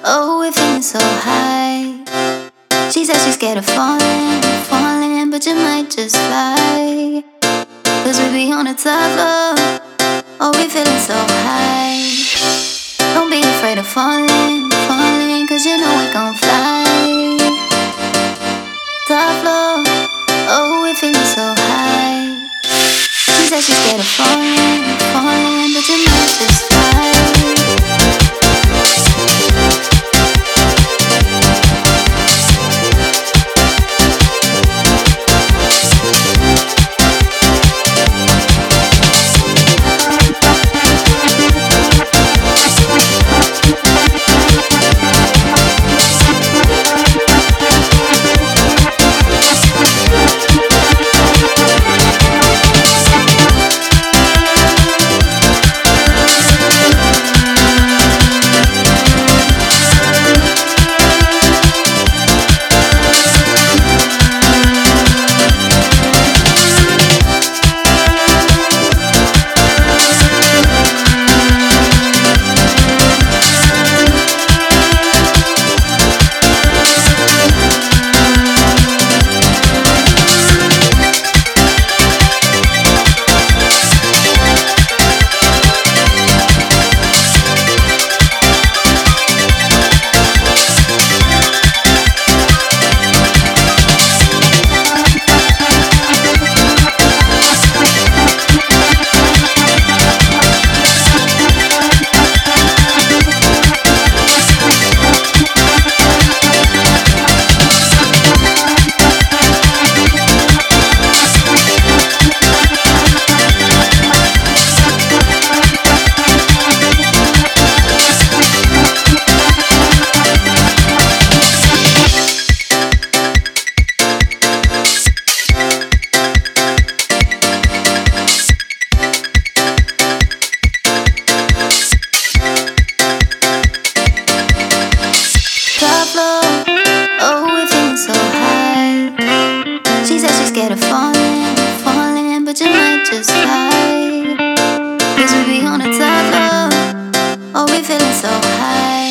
Oh, we're feeling so high. She said she's scared of falling, falling, but you might just fly. Cause we be on the top floor. Oh, we feeling so high. Don't be afraid of falling, falling, cause you know we gon' fly. Top floor. Oh, we feeling so high. She said she's scared of falling, falling, but you might just fly. Oh, we're feeling so high. She said she's scared of falling, falling, but you might just fly. Cause we be on the top floor. Oh, we feeling so high.